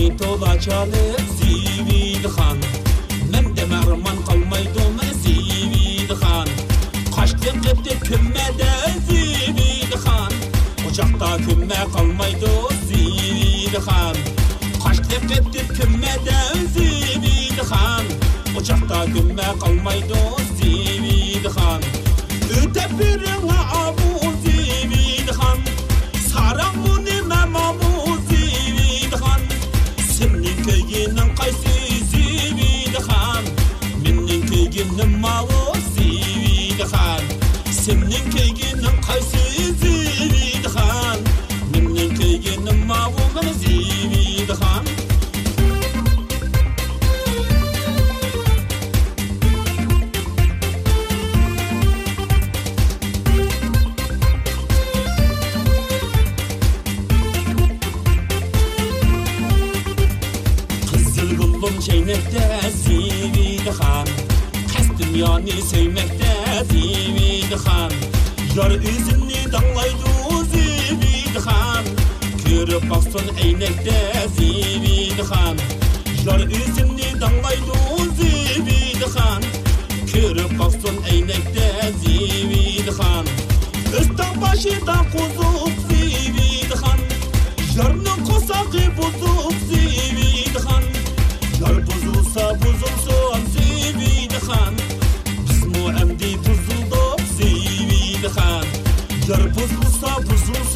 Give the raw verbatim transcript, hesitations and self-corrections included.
Seni tola çalıp Zivil Han Mende merman kalmaydı men Zivil Han Kaçtı gitti kümmede Zivil Han Ocakta kümme kalmaydı Zivil Han Kaçtı gitti kümmede Zivil Han Ocakta kümme kalmaydı Zivil Han Öte birine avu Zivil Han Saramuni memamu Zivil Han Senin köyünün kaysı Zivil Han Menin köyünün mavu Zivil Han Senin köyünün kaysı Zivil Han Menin köyünün mavu men Zivil Han Çeynekte Zivil Han Kas dünyani sevmekte Zivil Han Yar üzümni dağlaydı Zivil Han Körüp baksın eynekte Zivil Han Yar üzümni dağlaydı Zivil Han Körüp baksın eynekte Zivil Han Üstten başında kuzuk Zivil Han Yarının kosağı bozuk Zivil Han Yar bozulsa bozulsun Zivil Han Biz mu emdi bozulduk Zivil Han Yar bozulsa bozulsun